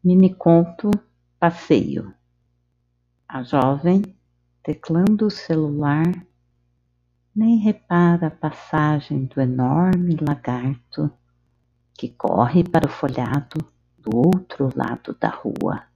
Miniconto Passeio. A jovem, teclando o celular, nem repara a passagem do enorme lagarto que corre para o folhado do outro lado da rua.